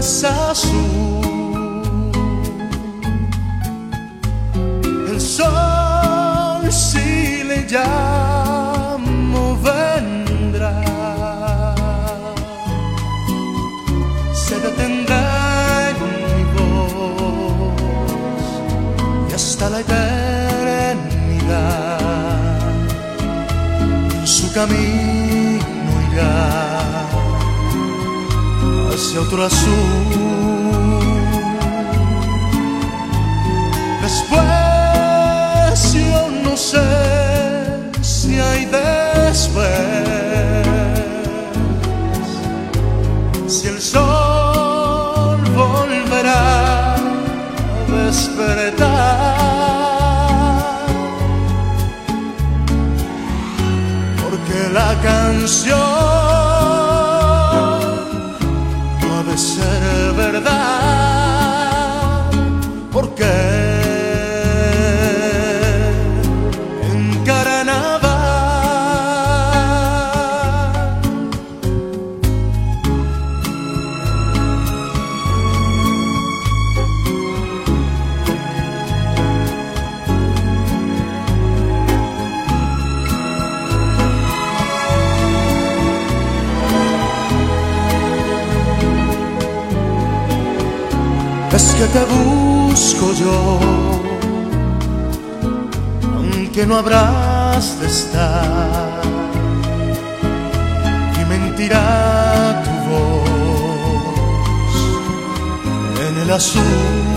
azul. El sol, si le llamo, vendrá, se detendrá en mi voz y hasta la eternidad en su camino irá hacia otro azul. Después yo no sé si hay después, si el sol volverá a despertar, porque la canción puede ser verdad, porque en carnaval es que te busco yo, aunque no habrás de estar, y mentirá tu voz en el azul.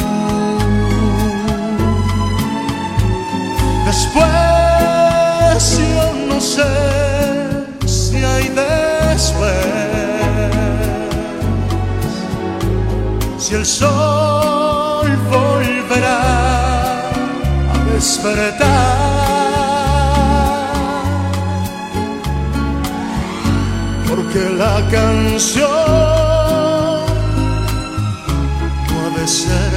Después yo no sé si hay después, si el sol volverá a despertar, porque la canción puede ser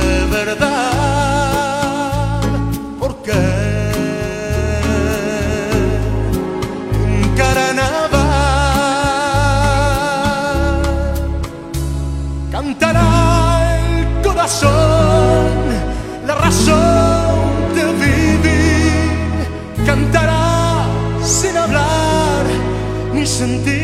verdad, porque en carnaval cantará la razón de vivir, cantará sin hablar ni sentir.